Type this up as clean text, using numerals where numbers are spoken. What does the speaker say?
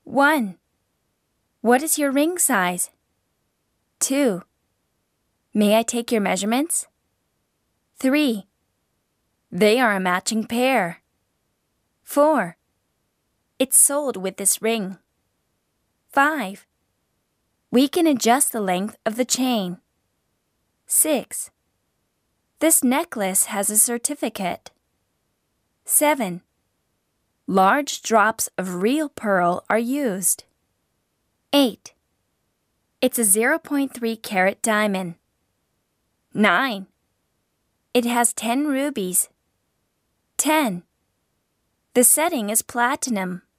1. What is your ring size? 2. May I take your measurements? 3. They are a matching pair. 4. It's sold with this ring. 5. We can adjust the length of the chain. 6. This necklace has a certificate. 7. Large drops of real pearl are used. 8. It's a 0.3 carat diamond. 9. It has 10 rubies. 10. The setting is platinum.